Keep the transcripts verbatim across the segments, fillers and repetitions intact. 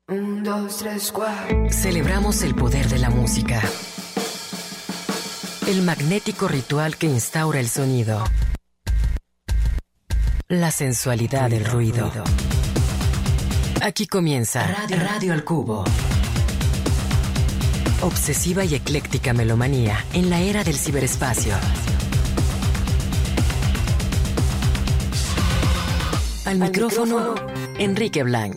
Un, dos, tres, cuatro. Celebramos el poder de la música. El magnético ritual que instaura el sonido. La sensualidad del ruido. Aquí comienza Radio, Radio al Cubo. Obsesiva y ecléctica melomanía en la era del ciberespacio. Al, Al micrófono, micrófono, Enrique Blanc.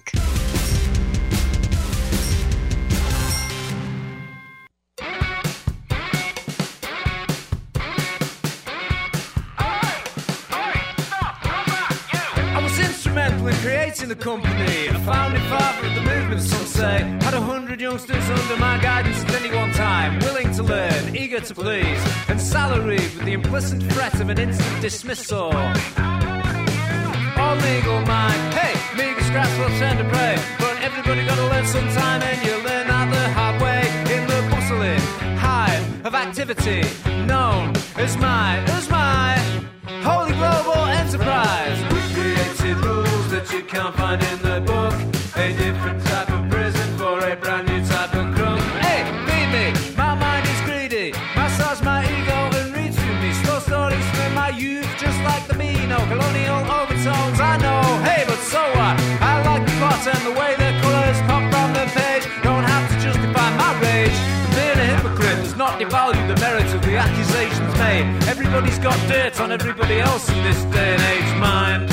Creating the company, a founding father of the movement, some say. Had a hundred youngsters under my guidance at any one time, willing to learn, eager to please, and salaried with the implicit threat of an instant dismissal. All legal mind, hey, meager scraps will turn to prey, but everybody gotta learn sometime, and you learn that the hard way in the bustling hive of activity known as my, as my holy global enterprise. We created rules that you can't find in the book. A different type of prison for a brand new type of crook. Hey, feed me, my mind is greedy. Massage my ego and read through me. Slow stories from my youth, just like the Beano. Colonial overtones, I know. Hey, but so what? I like the plot and the way the colours pop from the page. Don't have to justify my rage. Being a hypocrite does not devalue the merit of the accusations made. Everybody's got dirt on everybody else in this day and age, mind.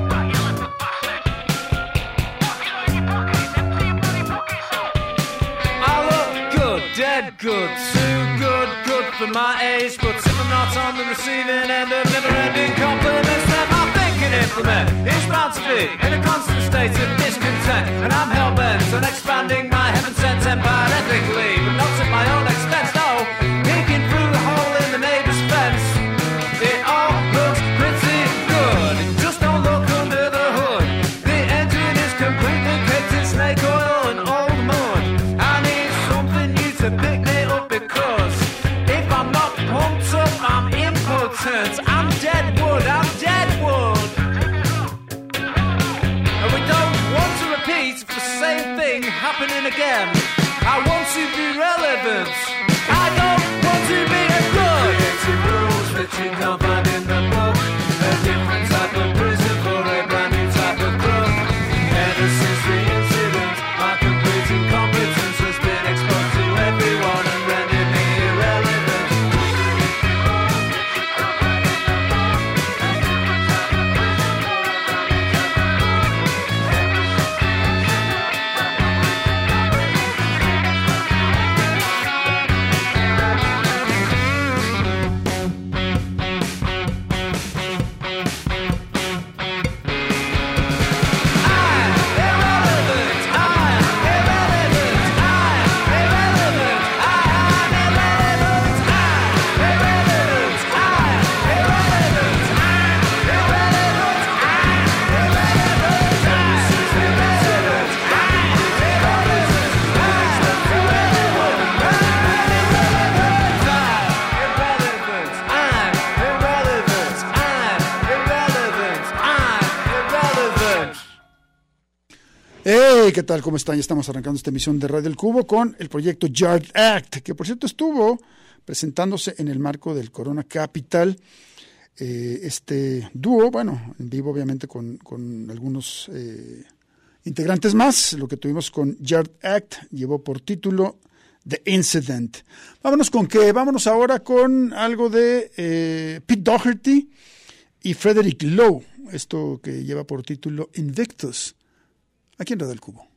Dead good, too good, good for my age. But if I'm not on the receiving end of never-ending compliments, then my thinking implement is bound to be in a constant state of discontent. And I'm hell-bent on expanding my heaven-sent empire ethically, but not at my own expense, no. Peeking through the hole in the neighbour's fence, it all looks pretty good. Just don't look under the hood. The engine is completely caked in snake oil and old mud. I need something new to pick me up, because if I'm not pumped up, I'm impotent. I'm dead wood, I'm dead wood. And we don't want to repeat the same thing happening again. I want to be relevant. I don't want to be a good. Creative rules that you can't find in the book. A different type of prison for a brand new type of crook. Ever since the incident, my complete incompetence has been exposed to everyone and rendered me irrelevant. Hey, ¿qué tal? ¿Cómo están? Ya estamos arrancando esta emisión de Radio El Cubo con el proyecto Yard Act, que por cierto estuvo presentándose en el marco del Corona Capital. Eh, este dúo, bueno, en vivo obviamente con, con algunos eh, integrantes más. Lo que tuvimos con Yard Act llevó por título The Incident. Vámonos con qué, vámonos ahora con algo de eh, Pete Doherty y Frederick Lowe, esto que lleva por título Invictus, aquí en Radio El Cubo.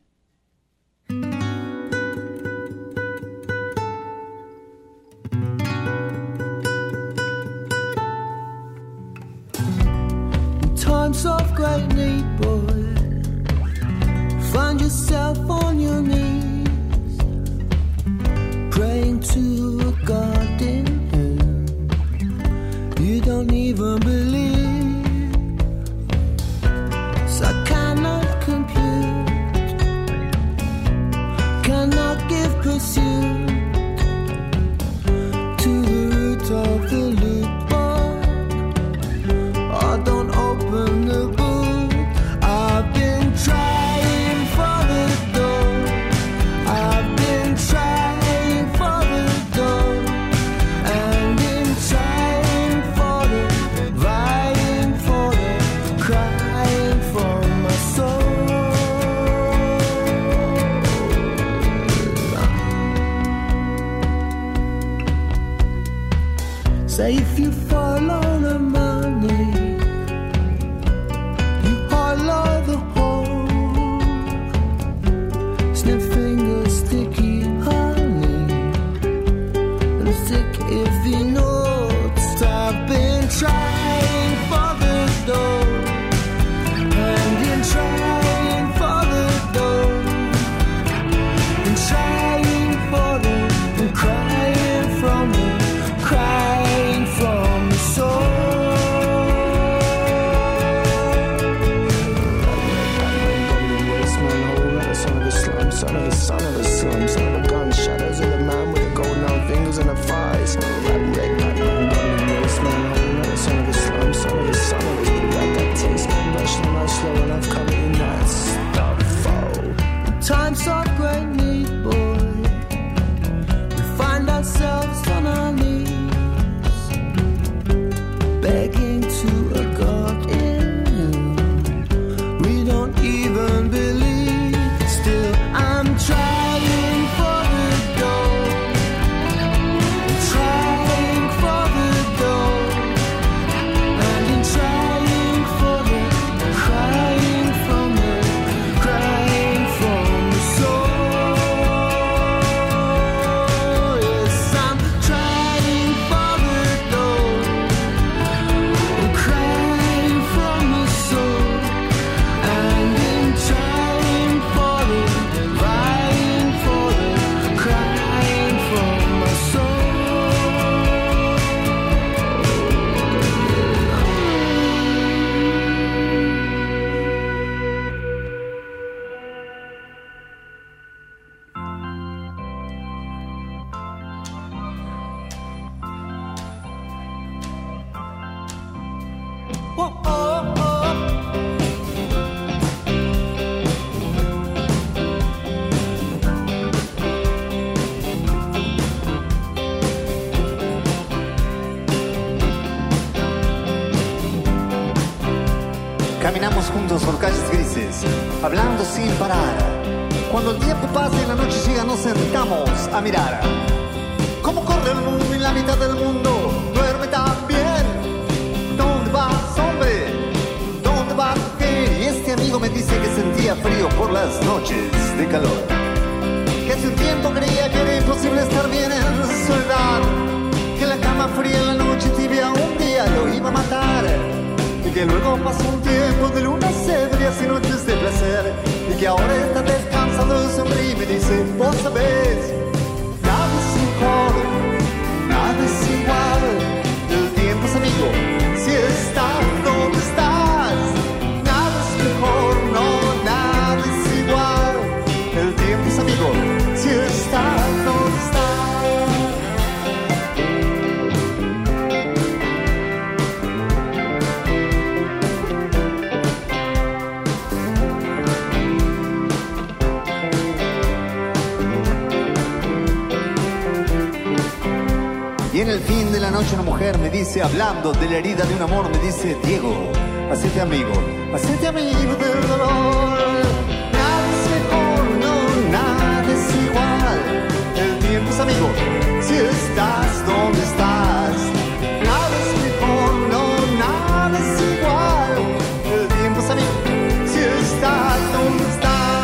Times of great need, boy, find yourself on your knees, praying to a God in whom you don't even believe. So I cannot compute, cannot give pursuit to the root of the loop. Oh, don't open the boot. I've been trying for the door. Say if you fall on the money, you hollow the hole. Snip fingers, sticky honey, sick if you know. I've been trying for the door, and in trying for the door, and trying for the, and crying from the, crying from the soul. Son of the slum, son of the son of the slum, son of the gun shadows of the man with the golden arm fingers and the thighs. Son of the slum, son of the son of the got that taste, rush not slow enough, coming in that stuff. Oh, times are great need, boy. We find ourselves on our knees, begging to a God in whom we don't even believe. Still, I'm trying for the door, trying for the door. Trying for the, crying from the, crying from the soul. Yes, I'm trying for the door, crying from the soul, and in trying for the, crying for the, crying from my soul. Caminamos juntos por calles grises, hablando sin parar. Cuando el tiempo pasa y la noche llega, nos sentamos a mirar cómo corre el mundo y la mitad del mundo duerme también. ¿Dónde vas, hombre? ¿Dónde vas, mujer? Y este amigo me dice que sentía frío por las noches de calor, que hace un tiempo creía que era imposible estar bien en soledad, que la cama fría en la noche tibia un día lo iba a matar, y que luego pasó un tiempo de lunas ebrias y noches de placer, y que ahora está descansando de sonríe y me dice, vos sabés, nada es mejor, nada es igual, el tiempo es amigo, si estás donde estás, nada es mejor, no, nada es igual, el tiempo es amigo, si estás donde estás. Y en el fin de la noche una mujer me dice, hablando de la herida de un amor, me dice, Diego, hacete amigo, hacete amigo del dolor. Nada es mejor, no, nada es igual. El tiempo es amigo, si estás donde estás. Nada es mejor, no, nada es igual. El tiempo es amigo, si estás donde estás.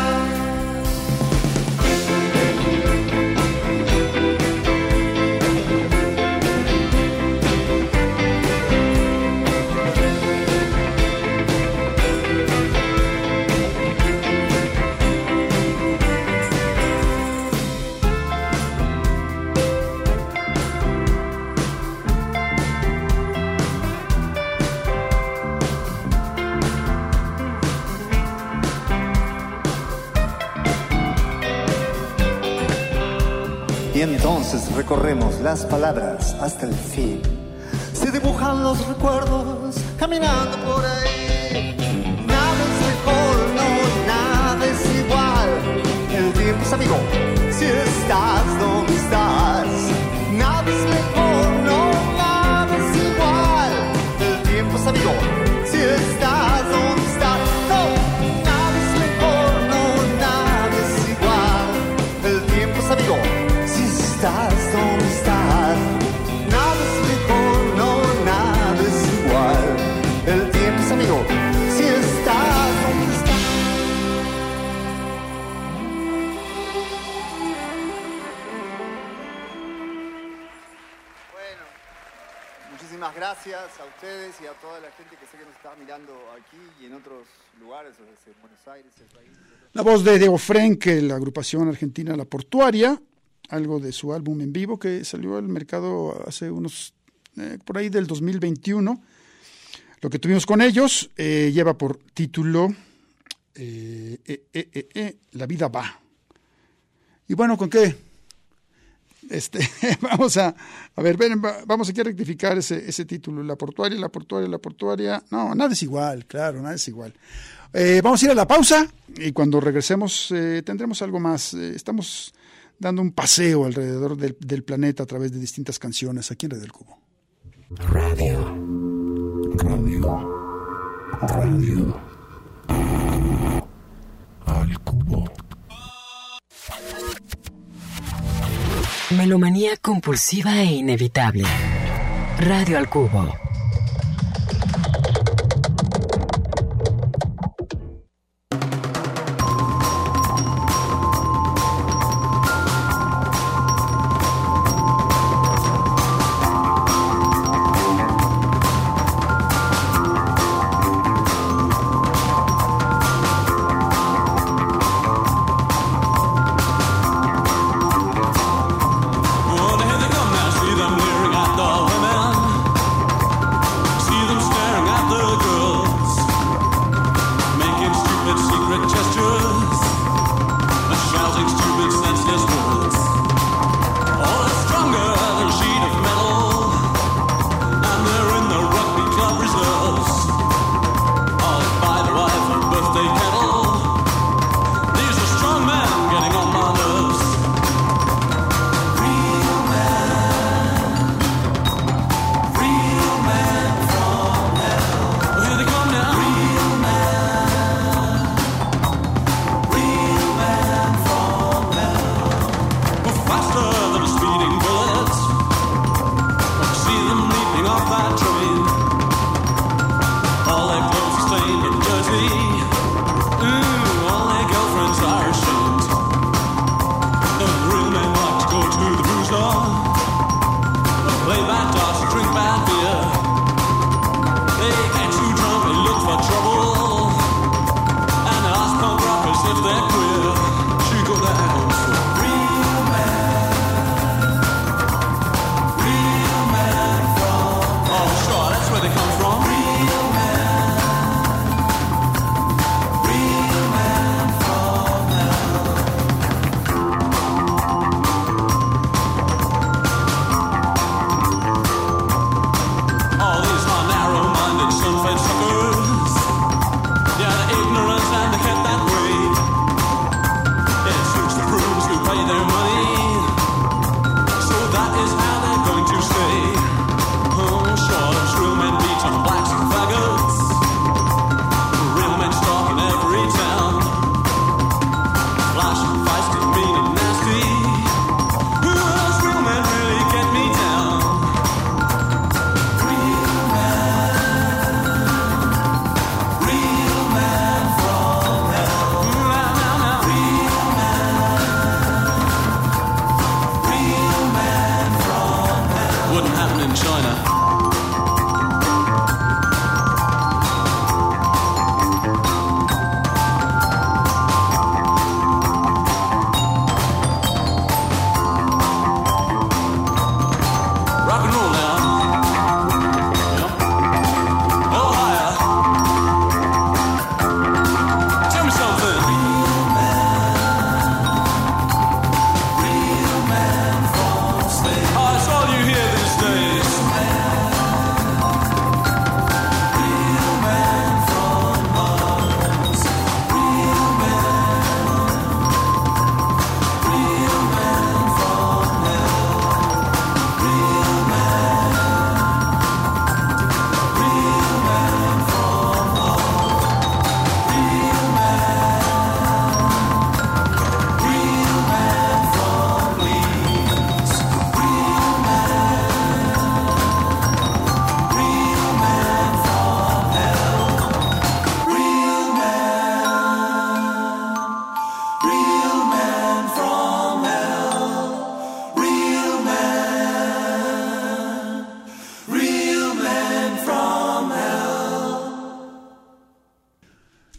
Y entonces recorremos las palabras hasta el fin. Se dibujan los recuerdos caminando por ahí. Nada es mejor, no, nada es igual. El tiempo es amigo, si estás donde estás. Nada es mejor, no, nada es igual. El tiempo es amigo, si estás donde estás. No, nada es mejor, no, nada es igual. El tiempo es amigo, estás donde estás, nada es mejor, muchísimas gracias a ustedes y a toda la gente que sé que nos está mirando aquí y en otros lugares, desde Buenos Aires, el país. La voz de Diego Frenkel, la agrupación argentina La Portuaria, algo de su álbum en vivo que salió al mercado hace unos, eh, por ahí del dos mil veintiuno. Lo que tuvimos con ellos eh, lleva por título eh, eh, eh, eh, eh, La vida va. Y bueno, ¿con qué? Este, vamos a, a ver, ven, vamos aquí a rectificar ese, ese título, La Portuaria, La Portuaria, La Portuaria. No, nada es igual, claro, nada es igual. Eh, vamos a ir a la pausa y cuando regresemos eh, tendremos algo más. Eh, estamos dando un paseo alrededor del, del planeta a través de distintas canciones aquí en Radio del Cubo. Radio. Radio. Radio. Al Cubo. Melomanía compulsiva e inevitable. Radio al Cubo. Oh, here they come now, see them leering at the women.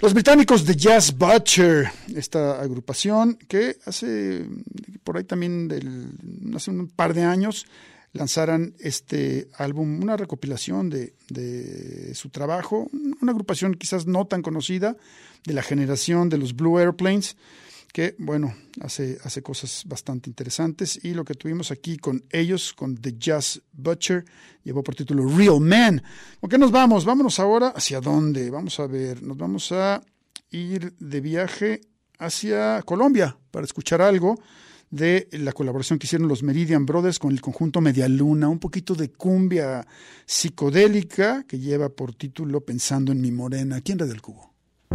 Los británicos de Jazz Butcher, esta agrupación que hace por ahí también del, hace un par de años lanzaran este álbum, una recopilación de, de su trabajo, una agrupación quizás no tan conocida de la generación de los Blue Airplanes, que bueno, hace, hace cosas bastante interesantes, y lo que tuvimos aquí con ellos, con The Jazz Butcher, llevó por título Real Man. ¿Con qué nos vamos? Vámonos ahora, ¿hacia dónde? Vamos a ver, nos vamos a ir de viaje hacia Colombia para escuchar algo de la colaboración que hicieron los Meridian Brothers con el conjunto Medialuna, un poquito de cumbia psicodélica que lleva por título Pensando en mi morena, aquí en Radio El Cubo.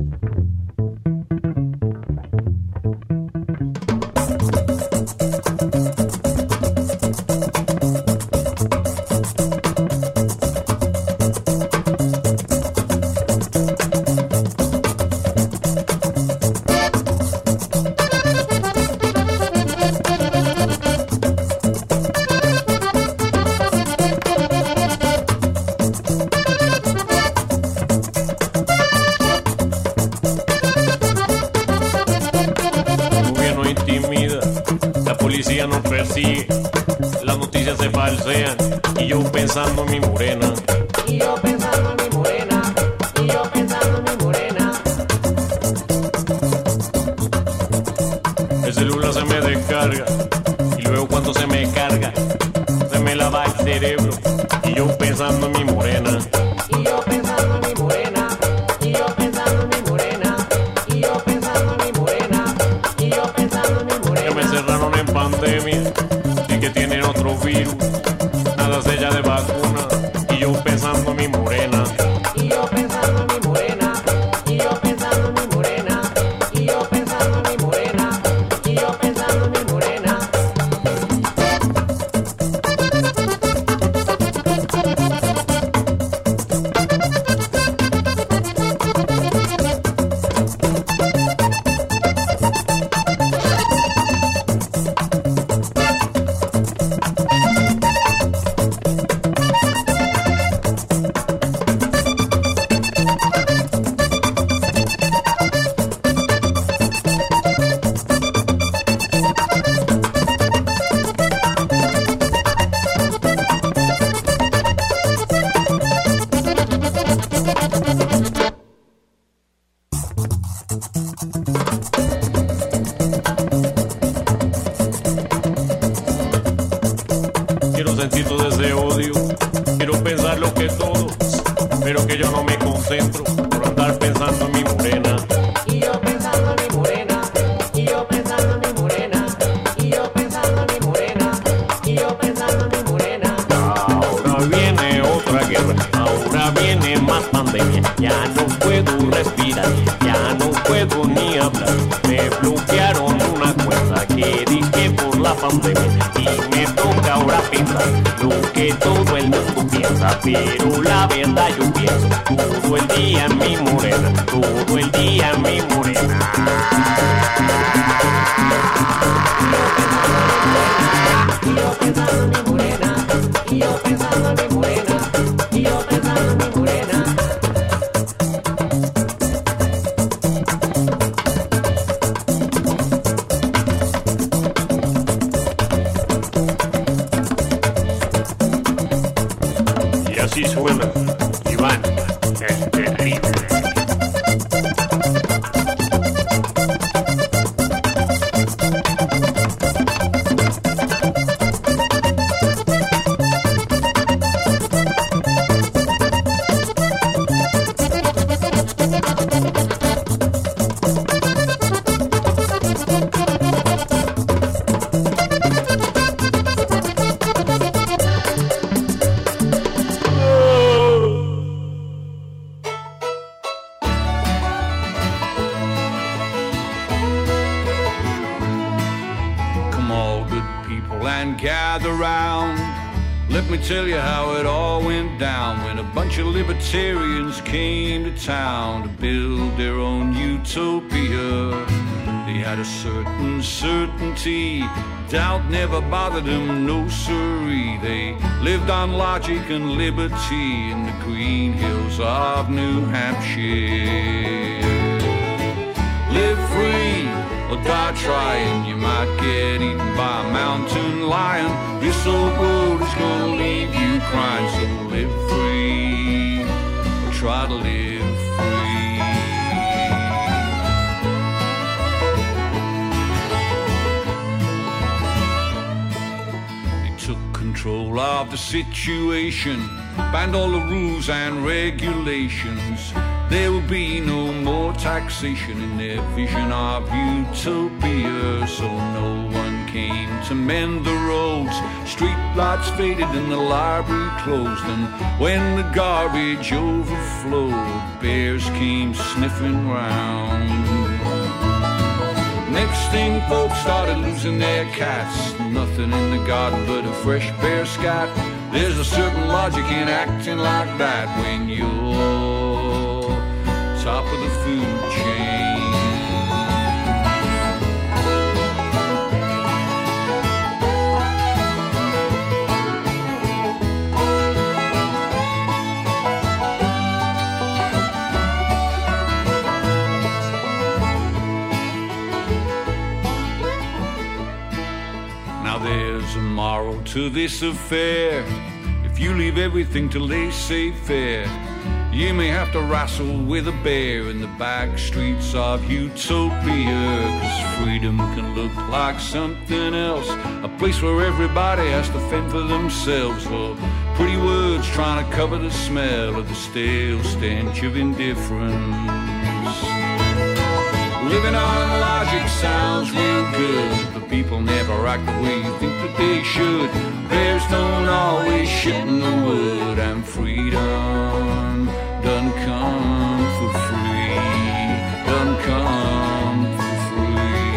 Nos persigue, las noticias se falsean y yo pensando en mi morena, y yo pensando en mi morena, y yo pensando en mi morena. El celular se me descarga y luego cuando se me carga se me lava el cerebro y yo pensando en mi morena, y yo pensando en mi morena, y yo pensando en mi morena, y yo pensando en mi morena, y yo pensando en mi morena. Que me cerraron en pandemia y que tienen otro virus, nada sella de vacuna y yo pensando en mi morena, y yo pensando en mi morena, y yo pensando en mi morena, y yo pensando en mi morena, y yo pensando en mi morena. Quiero sentir todo ese odio, quiero pensar lo que todos, pero que yo no me concentro por andar pensando en mi morena. Y yo pensando en mi morena, y yo pensando en mi morena, y yo pensando en mi morena, y yo pensando en mi morena. Ahora viene otra guerra, ahora viene más pandemia, ya no puedo respirar, ya no puedo ni hablar. Me bloquearon una cuenta que dije por la pandemia y me toca ahora pensar lo que todo el mundo piensa, pero la verdad yo pienso todo el día en mi morena, todo el día en mi morena. Y yo pensando en mi morena, y yo pensando en mi morena, y yo pensando en mi morena. Y así suena Iván, el terrible. Tell you how it all went down when a bunch of libertarians came to town to build their own utopia. They had a certain certainty, doubt never bothered them, no siree. They lived on logic and liberty in the green hills of New Hampshire. free or die trying. You might get eaten by a mountain lion. This old road is gonna leave you crying. So live free or try to live free. They took control of the situation, banned all the rules and regulations. There will be no more taxation in their vision of utopia. So no one came to mend the roads. Street lights faded and the library closed. And when the garbage overflowed, bears came sniffing round. Next thing folks started losing their cats. Nothing in the garden but a fresh bear scat. There's a certain logic in acting like that when you're top of the food chain. Now there's a moral to this affair. If you leave everything till they say fair, you may have to wrestle with a bear in the back streets of utopia. Cause freedom can look like something else, a place where everybody has to fend for themselves, or pretty words trying to cover the smell of the stale stench of indifference. Living on logic sounds real good, but people never act the way you think that they should. Bears don't always shit in the wood, and freedom doesn't come for free, doesn't come for free.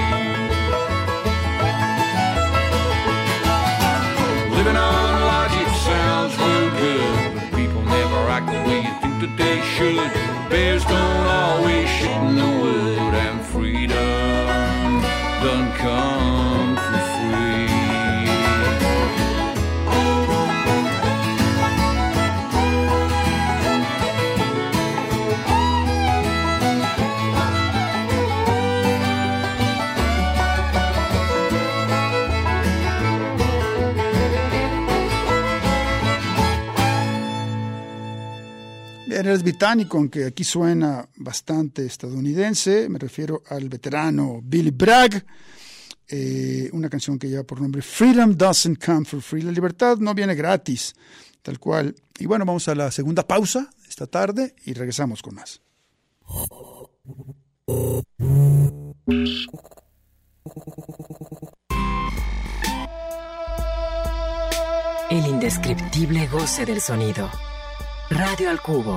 Living on logic sounds real good, but people never act the way you think that they should. Bears don't always shit in the wood, and freedom doesn't come for free. Eres británico, aunque aquí suena bastante estadounidense. Me refiero al veterano Billy Bragg, eh, una canción que lleva por nombre Freedom Doesn't Come for Free. La libertad no viene gratis, tal cual. Y bueno, vamos a la segunda pausa esta tarde y regresamos con más. El indescriptible goce del sonido. Radio al Cubo.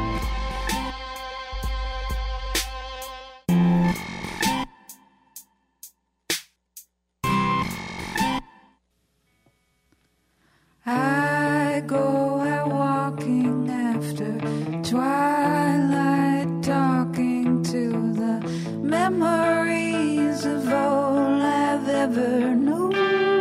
I go out walking after twilight, talking to the memories of all I've ever known.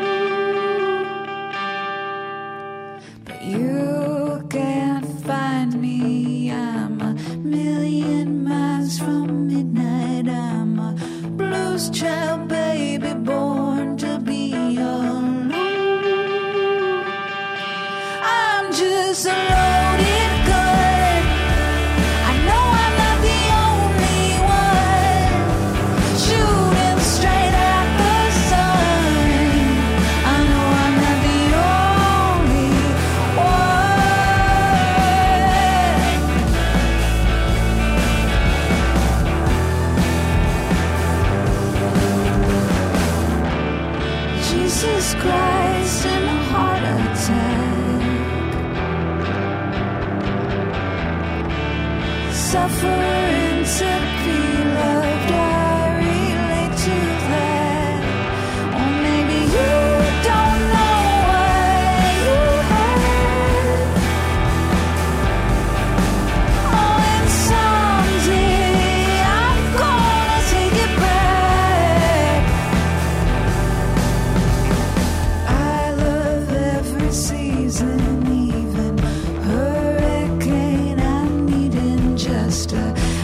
But you can't find me, I'm a million miles from midnight. I'm a blues child, baby, born to be alone. I'm just a loaded gun. I know I'm not the only one shooting straight at the sun. I know I'm not the only one. Jesus Christ in a heart attack. Suffering to be loved, I relate to that. Or maybe you don't know what you have. Oh, and someday I'm gonna take it back. I love every season, even hurricane. I'm needing just a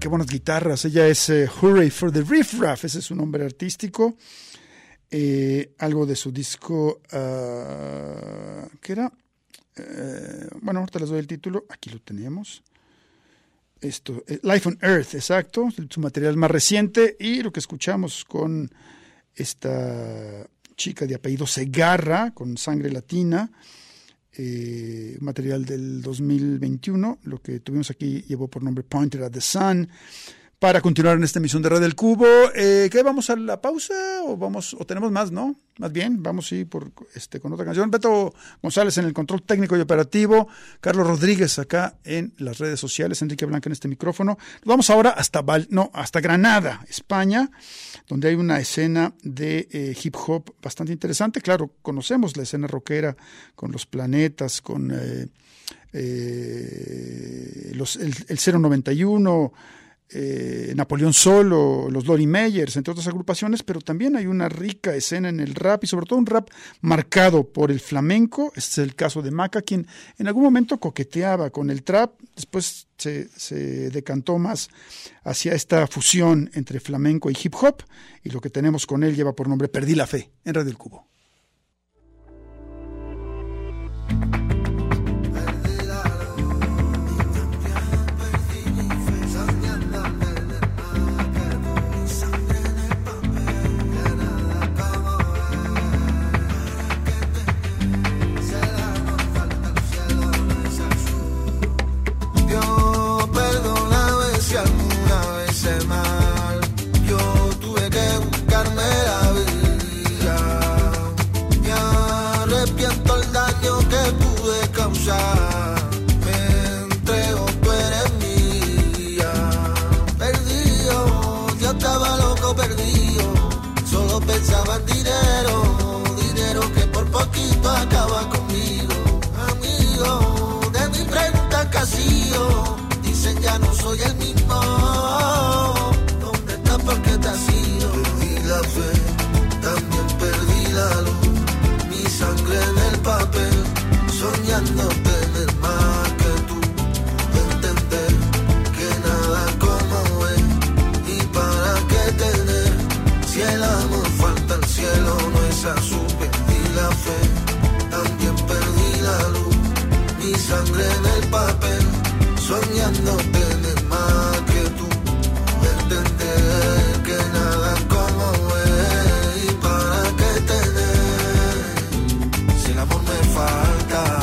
qué buenas guitarras. Ella es eh, Hooray for the Riff Raff, ese es su nombre artístico. Eh, algo de su disco, uh, ¿qué era? Eh, bueno, ahorita les doy el título, aquí lo tenemos. Esto, eh, Life on Earth, exacto, su material más reciente, y lo que escuchamos con esta chica de apellido Segarra, con Sangre Latina, eh, material del dos mil veintiuno, lo que tuvimos aquí llevó por nombre Pointed at the Sun. Para continuar en esta emisión de Radio del Cubo, eh, ¿qué, vamos a la pausa o vamos o tenemos más, no? Más bien, vamos sí por este con otra canción. Beto González en el control técnico y operativo, Carlos Rodríguez acá en las redes sociales, Enrique Blanca en este micrófono. Nos vamos ahora hasta Val, no, hasta Granada, España, donde hay una escena de eh, hip hop bastante interesante. Claro, conocemos la escena rockera con Los Planetas, con eh, eh, los, el, el cero noventa y uno, Eh, Napoleón Solo, los Lori Meyers, entre otras agrupaciones, pero también hay una rica escena en el rap y sobre todo un rap marcado por el flamenco. Este es el caso de Maca, quien en algún momento coqueteaba con el trap, después se, se decantó más hacia esta fusión entre flamenco y hip hop, y lo que tenemos con él lleva por nombre Perdí la Fe, en Radio del Cubo. Pensaba en dinero, dinero que por poquito acaba conmigo. Amigo, de mi frente al casillo, dicen ya no soy el mismo. ¿Dónde estás? ¿Por qué te has ido? Perdí la fe, también perdí la luz. Mi sangre en el papel, soñando tener más que tú. Entender que nada como es, y para qué tener si el amor falta al cielo, no es azul. Perdí la fe, también perdí la luz. Mi sangre en el papel, soñando tener más que tú. Entender que nada como es, y para qué tener si el amor me falta.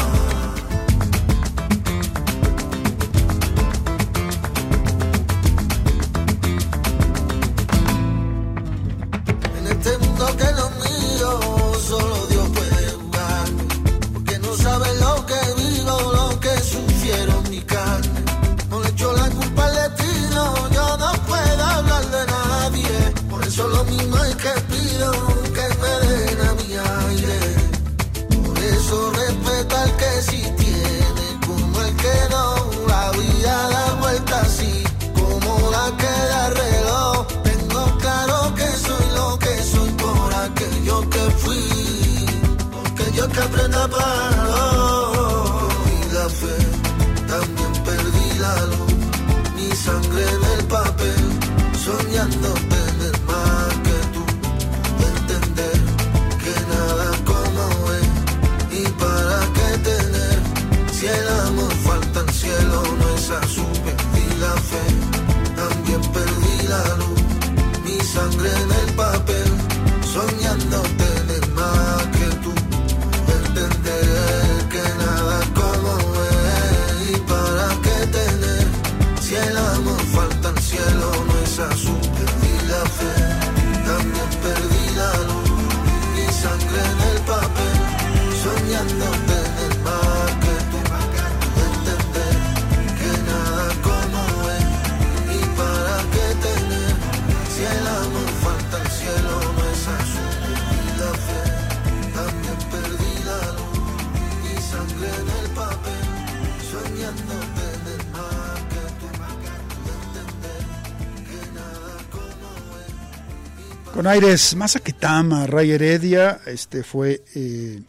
Que lo mío, solo Dios puede jugarme, porque no sabe lo que vivo, lo que sufrieron mi carne. No le echo la culpa al destino, yo no puedo hablar de nadie. Por eso lo mismo es que pido que me den a mi aire. Por eso respeta al que sí tiene, como el que no. La vida da vuelta así, como la que da reloj. Tengo claro que soy lo que soy por aquello que fui, porque yo que aprenda a parar. Perdí la fe, también perdí la luz. Mi sangre en el papel, soñando tener más que tú. Entender que nada como es, y para qué tener si el amor falta al cielo, no es azul. Perdí la fe, también perdí la luz. Mi sangre en el papel, soñando tener más que tú. Entender que nada como es, y para qué tener si el amor falta al cielo, no es azul. Perdí la fe, también perdí la luz. Mi sangre en el papel, soñando tener más que tú. Entender que nada como es, y para qué tener si el amor falta al cielo, no es azul. Perdí la fe, también perdí la luz. Mi sangre en el papel, soñando tener más que tú. Entender que nada como es, y Con aires más Aketama, Ray Heredia, este fue eh,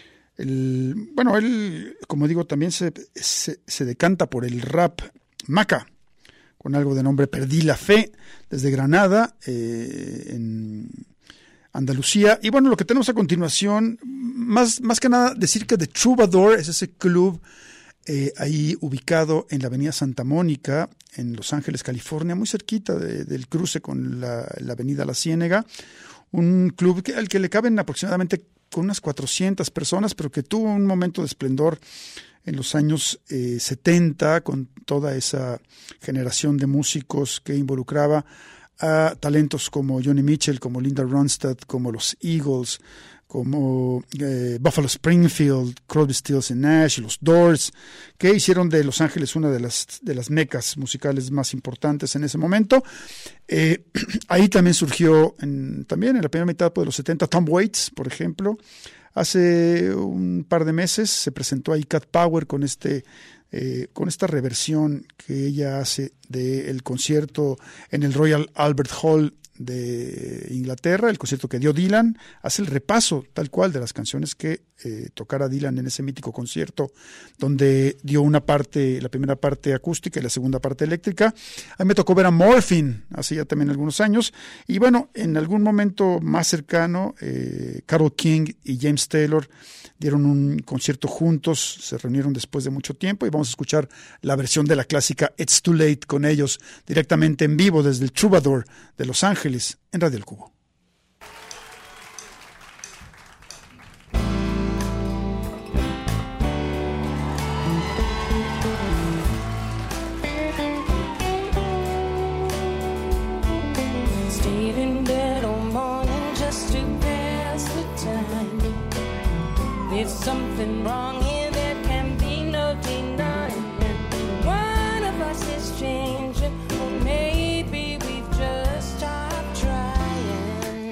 el, bueno, él, como digo, también se, se, se decanta por el rap. Maca, con algo de nombre Perdí la Fe, desde Granada, eh, en Andalucía. Y bueno, lo que tenemos a continuación, más, más que nada decir que The Troubadour es ese club eh, ahí ubicado en la avenida Santa Mónica, en Los Ángeles, California, muy cerquita de, del cruce con la, la avenida La Ciénega, un club que, al que le caben aproximadamente con unas cuatrocientas personas, pero que tuvo un momento de esplendor en los años eh, setenta, con toda esa generación de músicos que involucraba a talentos como Joni Mitchell, como Linda Ronstadt, como los Eagles, como eh, Buffalo Springfield, Crosby, Stills and Nash, los Doors, que hicieron de Los Ángeles una de las, de las mecas musicales más importantes en ese momento. Eh, ahí también surgió, en, también en la primera mitad de los setenta, Tom Waits, por ejemplo. Hace un par de meses se presentó ahí Cat Power con este eh, con esta reversión que ella hace del concierto en el Royal Albert Hall de Inglaterra, el concierto que dio Dylan. Hace el repaso tal cual de las canciones que eh, tocara Dylan en ese mítico concierto, donde dio una parte, la primera parte acústica y la segunda parte eléctrica. A mí me tocó ver a Morphine hace ya también algunos años, y bueno, en algún momento más cercano, eh, Carole King y James Taylor dieron un concierto juntos, se reunieron después de mucho tiempo, y vamos a escuchar la versión de la clásica It's Too Late con ellos, directamente en vivo desde el Troubadour de Los Ángeles, en Radio El Cubo. Stayed in bed all morning just to pass the time. There's something wrong here, there can be no denying. One of us is changing, or maybe we've just stopped trying.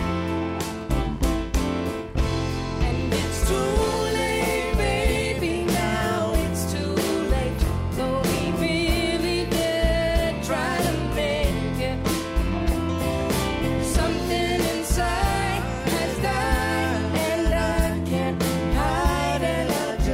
And it's too late, baby, now it's too late. Though we really did try to make it. Something inside has died, and I can't hide it. I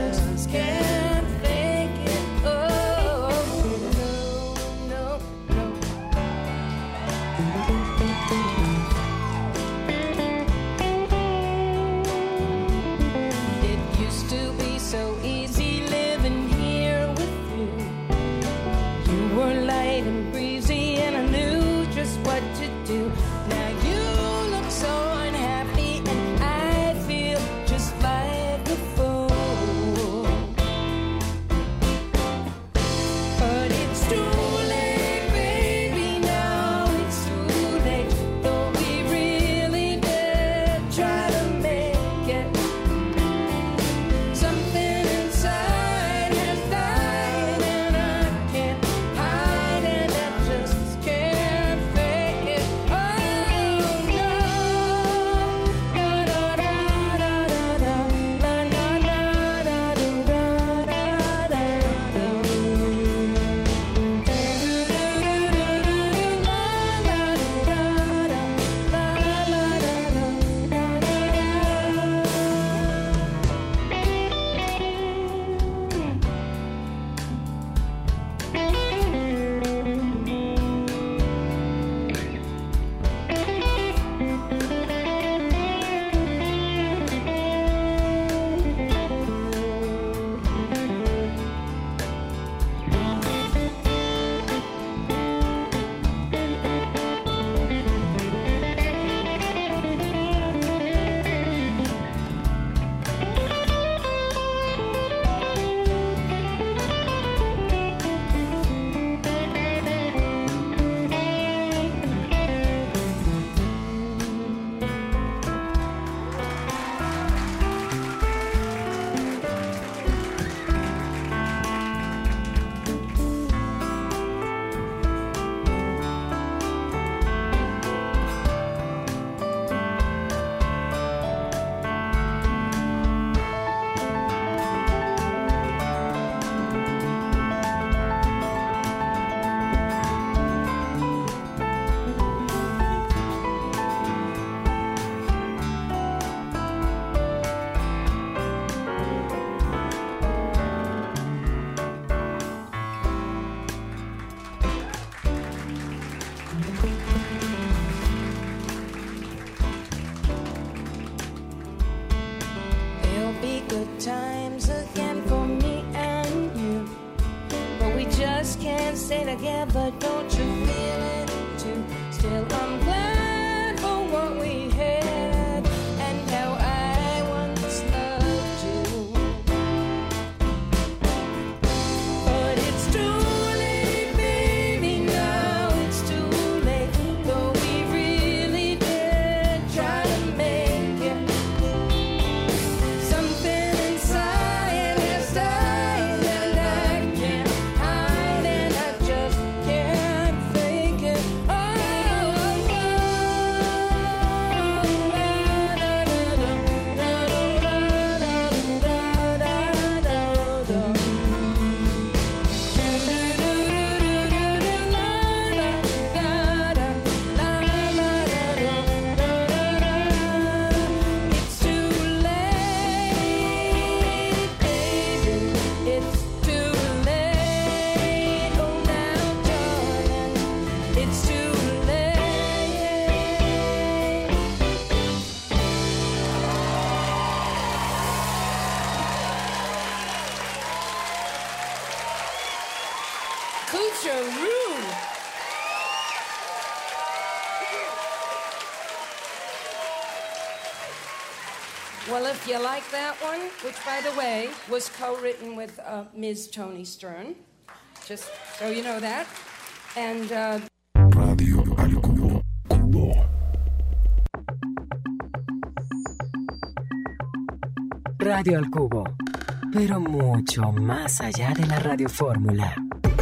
Well, if you like that one, which, by the way, was co-written with uh, Miz Toni Stern, just so you know that, and... Uh, Radio al Cubo. Cubo. Radio al Cubo, pero mucho más allá de la radiofórmula.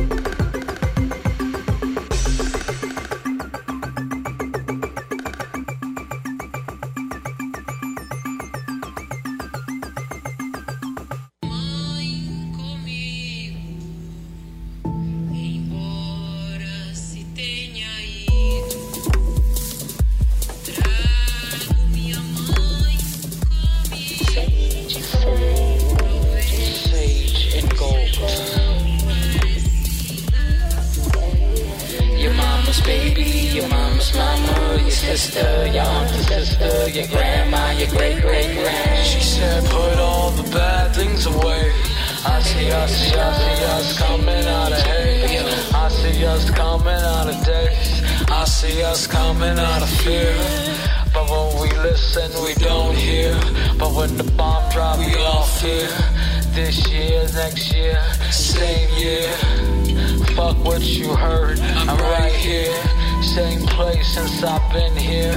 Sister, your auntie sister, your grandma, your great great grand. She said, put all the bad things away. I see us, see us, see us coming out of hate. I see us coming out of days. I see us coming out of fear. But when we listen, we don't hear. But when the bomb drop, we all fear. This year, next year, same year. Fuck what you heard, I'm right here. Same place since I've been here.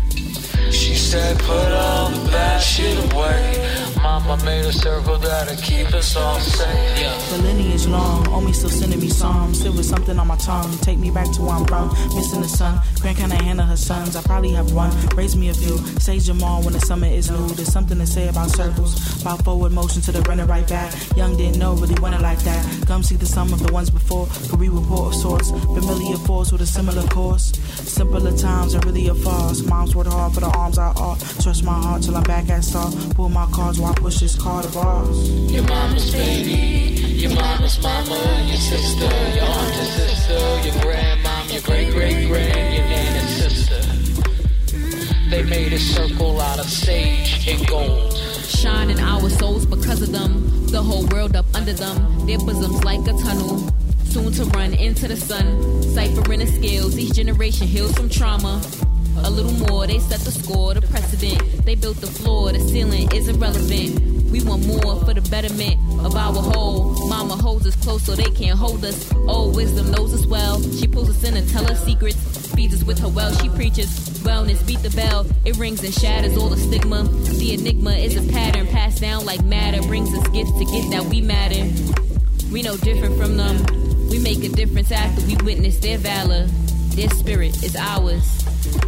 She said put all the bad shit away. Mama made a circle that'll keep us all safe. Yeah. The lineage long, old me still sending me psalms. There was something on my tongue, take me back to where I'm from. Missing the sun, Grand can't handle her sons. I probably have one, raise me a few. Say Jamal when the summer is new. There's something to say about circles, about forward motion to the running right back. Young didn't know, really wanted like that. Come see the sum of the ones before, career report of sorts. Familiar force with a similar course. Simpler times are really a farce. Moms worked hard for the arms I ought. Trust my heart till I'm back at start. Pull my cards while I push this card of ours. Your mama's baby, your mama's mama, your sister, your aunt's sister, your grandmom, your great great grand, your nana's sister. They made a circle out of sage and gold. Shine in our souls because of them. The whole world up under them. Their bosoms like a tunnel, soon to run into the sun. Ciphering the scales, each generation heals from trauma. A little more, they set the score, the precedent. They built the floor, the ceiling is irrelevant. We want more for the betterment of our whole. Mama holds us close so they can't hold us. Old wisdom knows us well. She pulls us in and tells us secrets. Feeds us with her well, she preaches wellness, beat the bell. It rings and shatters all the stigma. The enigma is a pattern passed down like matter. Brings us gifts to get that we matter. We know different from them. We make a difference after we witness their valor. Their spirit is ours.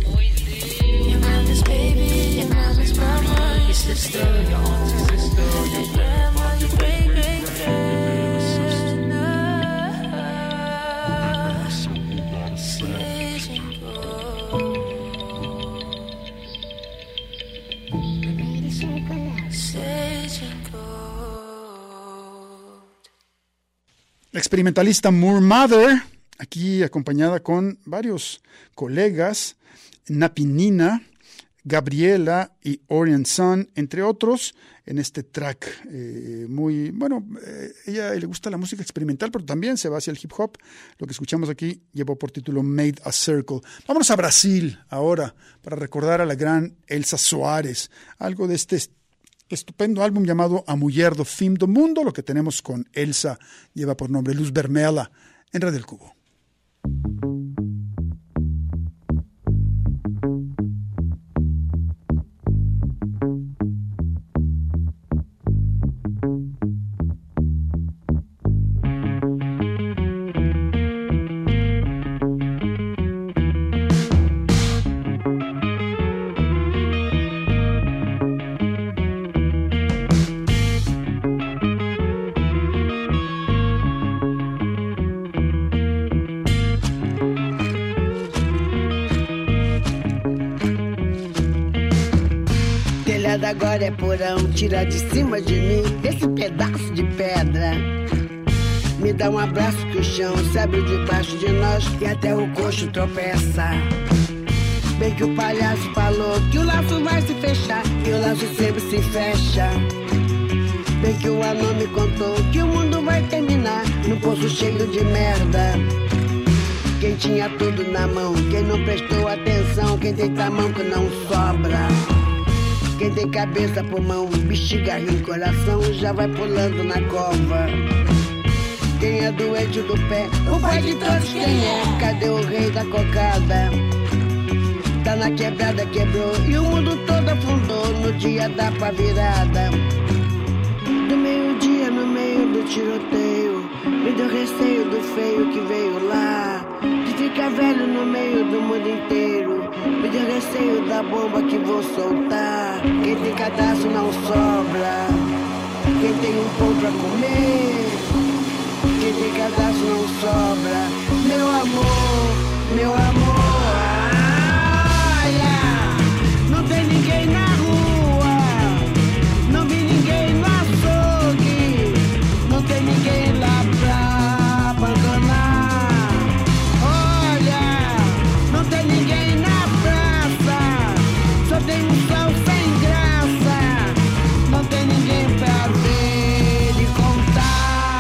Your mama's baby, your mama's mama, your sister, your aunt's sister, your grandma, your great great grand. Sage and gold. Sage and gold. La experimentalista Moor Mother, aquí acompañada con varios colegas, Napinina, Gabriela y Orion Sun, entre otros, en este track eh, muy, bueno, eh, ella le gusta la música experimental, pero también se va hacia el hip hop. Lo que escuchamos aquí llevó por título Made a Circle. Vámonos a Brasil ahora para recordar a la gran Elsa Soares, algo de este estupendo álbum llamado A Mulher do Fim do Mundo. Lo que tenemos con Elsa lleva por nombre Luz Vermelha en Radio El Cubo. Agora é porão, tira de cima de mim esse pedaço de pedra. Me dá um abraço que o chão se abre debaixo de nós e até o coxo tropeça. Bem que o palhaço falou que o laço vai se fechar e o laço sempre se fecha. Bem que o anão me contou que o mundo vai terminar num poço cheio de merda. Quem tinha tudo na mão, quem não prestou atenção, quem tem tamanho que não sobra. Quem tem cabeça, pulmão, bexiga, rim, coração, já vai pulando na cova. Quem é doente do pé, o pai de todos quem é? Cadê o rei da cocada? Tá na quebrada, quebrou e o mundo todo afundou no dia da pá virada. Do meio-dia no meio do tiroteio, me deu receio do feio que veio lá. De ficar velho no meio do mundo inteiro, me deu receio da bomba que vou soltar. Quem tem cadastro não sobra, quem tem um pão pra comer. Quem tem cadastro não sobra, meu amor, meu amor. Olha, não tem ninguém na rua, não vi ninguém no açougue, não tem ninguém lá pra abandonar. Olha, não tem ninguém na praça, só tem um sol sem graça, não tem ninguém pra ver e contar.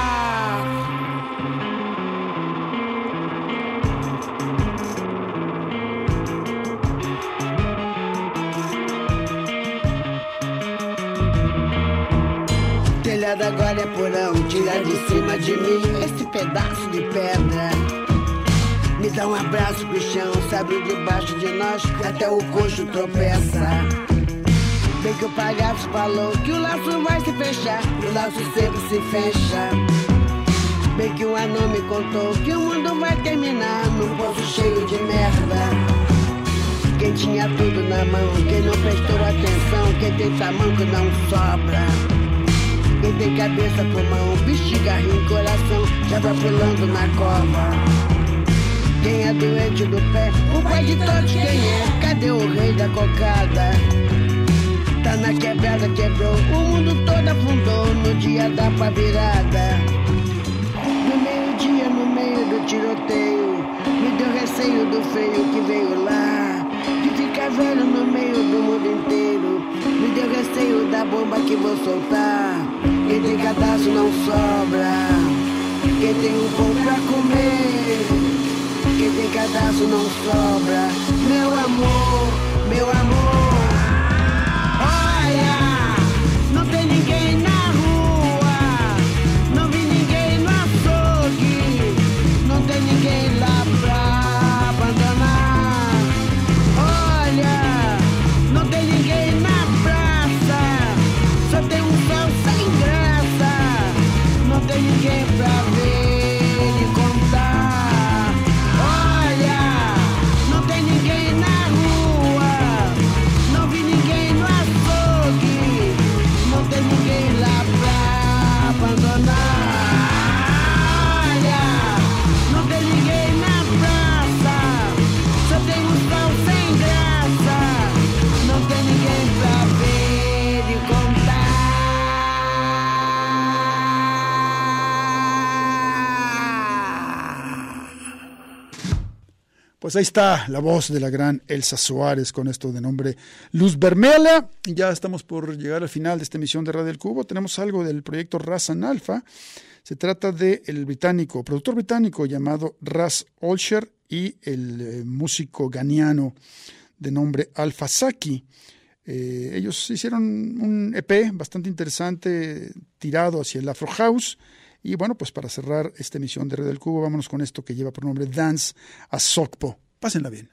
Telhado agora é porão, tira de cima de mim esse pedaço de pedra. Me dá um abraço pro chão, se abre debaixo de nós, até o coxo tropeça. Bem que o palhaço falou que o laço vai se fechar, o laço sempre se fecha. Bem que o anão me contou que o mundo vai terminar num poço cheio de merda. Quem tinha tudo na mão, quem não prestou atenção, quem tem tamanco não sobra. Quem tem cabeça, pulmão, bexiga, rim, coração, já vai pulando na cova. Quem é doente do pé, o pai de todos quem é? Cadê o rei da cocada? Tá na quebrada, quebrou, o mundo todo afundou no dia da pá virada. No meio-dia, no meio do tiroteio, me deu receio do feio que veio lá. De ficar velho no meio do mundo inteiro, me deu receio da bomba que vou soltar. Quem tem cadastro não sobra, quem tem um pão pra comer. Quem tem cadastro não sobra, meu amor, meu amor. Olha, não tem ninguém na rua, não vi ninguém no açougue, não tem ninguém lá pra abandonar. Olha, não tem ninguém na praça, só tem um sol sem graça, não tem ninguém pra ver e contar. Olha, não tem ninguém na rua, não vi ninguém no açougue, não tem ninguém lá pra abandonar. Olha, não tem ninguém na praça, só tem um sol sem graça, não tem ninguém pra ver e contar. Pues ahí está la voz de la gran Elsa Suárez con esto de nombre Luz Vermelha. Ya estamos por llegar al final de esta emisión de Radio El Cubo. Tenemos algo del proyecto Razan Alpha. Se trata del británico, productor británico llamado Ras Olsher y el eh, músico ganiano de nombre Alpha Saki. Eh, ellos hicieron un E P bastante interesante tirado hacia el Afro House. Y bueno, pues para cerrar esta emisión de Red del Cubo, vámonos con esto que lleva por nombre Dance a Sokpo. Pásenla bien.